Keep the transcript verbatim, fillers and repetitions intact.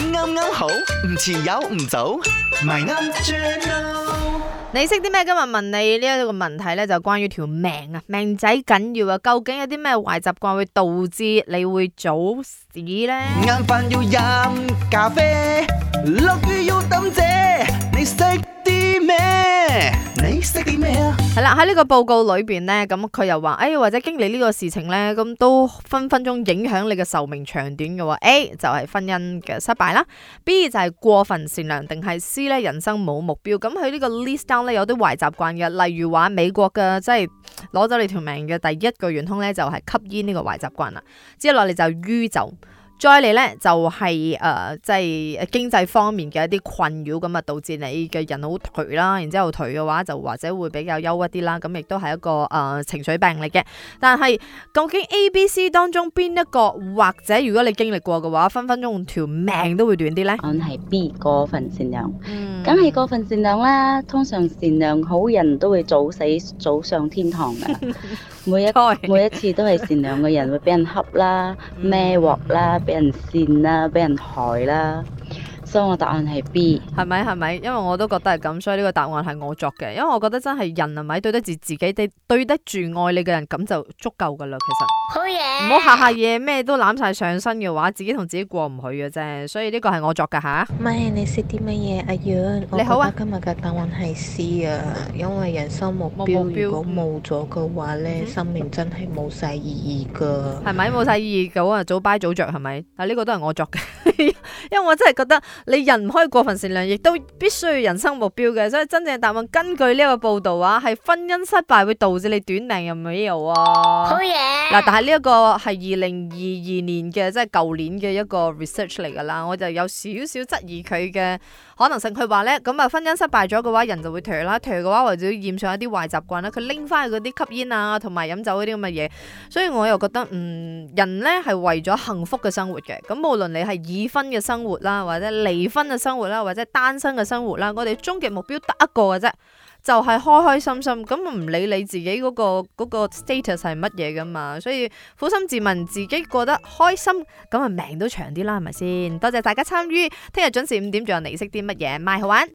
啱啱好，唔遲有唔早，咪啱 channel。 你識啲咩？今日問你呢一個問題咧，就關於條命啊，命仔緊要啊！究竟有啲咩壞習慣會導致你會早死咧？ 晏飯要飲咖啡，落雨要抌遮，你識啲咩？你識啲咩啊？ 係啦，喺呢個報告裏邊咧，咁佢又話，哎，或者經歷呢個事情咧，咁都分分鐘影響你嘅壽命長短嘅喎。A 就係婚姻嘅失敗啦 ，B 就係過分善良，定係 C 咧人生冇目標。咁佢呢個 list down 咧有啲壞習慣嘅，例如話美國嘅即係攞走你條命嘅第一個元兇咧就係吸煙呢個壞習慣啦，之後落嚟就酗酒。再嚟咧就係誒即係經濟方面嘅一啲困擾，咁啊導致你嘅人好頹啦，然之後頹嘅話就或者會比較憂鬱啲啦，咁亦都係一個誒、呃、情緒病嚟嘅。但係究竟 A、B、C 當中邊一個，或者如果你經歷過嘅話，分分鐘條命都會短啲咧？ 我係 B 過分善良， 嗯， 梗係過分善良啦。通常善良好人都會早死早上天堂噶，每一每一次都係善良嘅人會俾人恰啦、孭鑊啦、俾人扇啦、俾人害啦。所以我答案係 B， 係咪係咪？因為我都覺得係咁，所以呢個答案係我作嘅。因為我覺得真係人係咪對得住自己，對對得住愛你嘅人，咁就足夠噶啦。其實好嘢， 唔好下下嘢咩都攬晒上身嘅話，自己同自己過唔去嘅啫。所以呢個係我作噶吓。 咪你識啲乜嘢？阿遠， 你好啊我覺得今日嘅答案係 C 啊，因為人生目標冇目標如果冇咗嘅話咧， 嗯生命真係冇晒意義噶。 係咪冇晒意義嘅啊？早擺早着係咪？但呢個都係我作嘅，因為我真係覺得你人唔可以過分善良，亦都必須要人生目標嘅。所以真正答案根據呢個報道啊，係婚姻失敗會導致你短命，有冇有啊？ 好嘢， 嗱，但係呢一個係二零二二年嘅，即係舊年嘅一個 research 嚟噶啦，我就有少少質疑佢嘅可能性。佢話咧，咁啊婚姻失敗咗嘅話，人就會頹啦，頹嘅話或者染上一啲壞習慣啦，佢拎翻去嗰啲吸煙啊，同埋飲酒嗰啲咁嘅嘢。所以我又覺得，嗯，人咧係為咗幸福嘅生活嘅。咁無論你係已婚嘅生活啦，或者離婚嘅生活啦，或者單身嘅生活啦，我哋終極目標得一個嘅啫。就係開開心心，咁唔理你自己嗰、個嗰、個 status 係乜嘢噶嘛，所以苦心自問自己過得開心，咁啊命都長啲啦，係咪先？多謝大家參與，聽日準時五點仲有你識啲乜嘢，咪好玩。